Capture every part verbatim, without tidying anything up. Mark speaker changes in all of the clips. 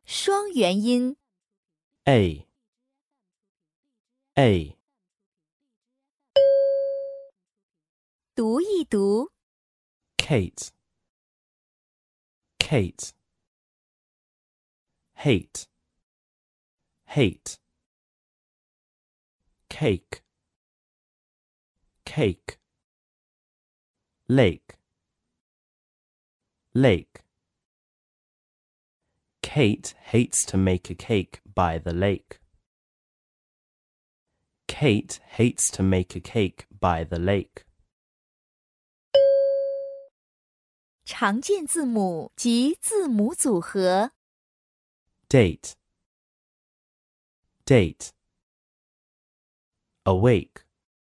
Speaker 1: 双元音
Speaker 2: A A
Speaker 1: 读一读
Speaker 2: Kate Kate Hate Hate Cake Cake Lake Lake Kate hates to make a cake by the lake. Kate hates to make a cake by the lake.
Speaker 1: 常见字母及字母组合
Speaker 2: Date Date Awake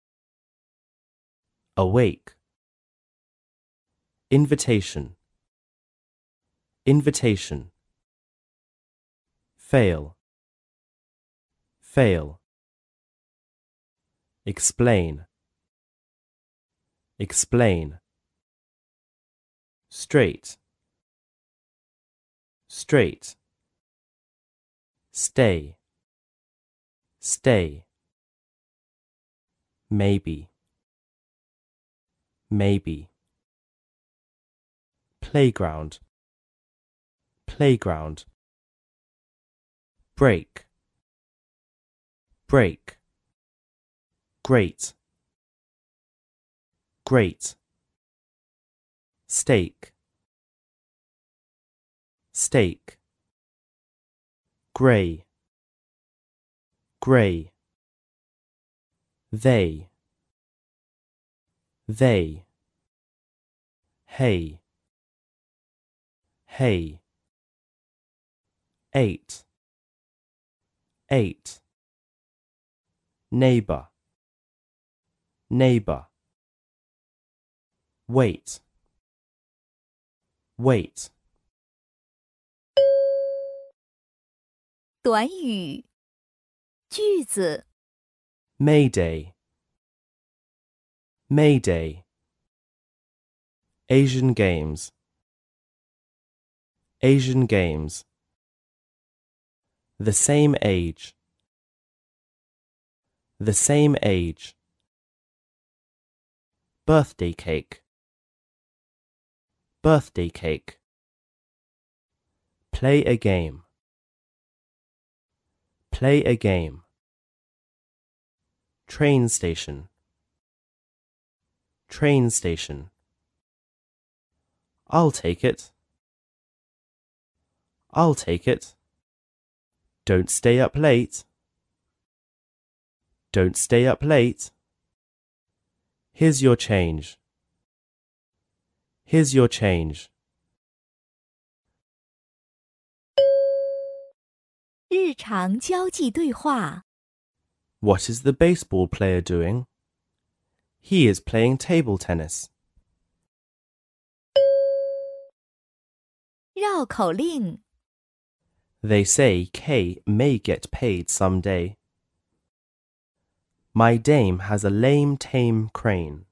Speaker 2: Awake Invitation Invitation Fail Fail Explain Explain Straight Straight Stay Stay Maybe Maybe Playground Playground Break Break Great Great Steak Steak Grey Grey They They Hay Hay Eight Eight Neighbor Neighbor Wait Wait
Speaker 1: 短语句子
Speaker 2: Mayday Mayday Asian Games Asian Games The same age The same age Birthday cake Birthday cake Play a game Play a game Train station Train station I'll take it I'll take it Don't stay up late Don't stay up late Here's your change Here's your change
Speaker 1: 日常交际对话
Speaker 2: What is the baseball player doing? He is playing table tennis.
Speaker 1: 绕口令
Speaker 2: They say Kay may get paid some day. My dame has a lame tame crane.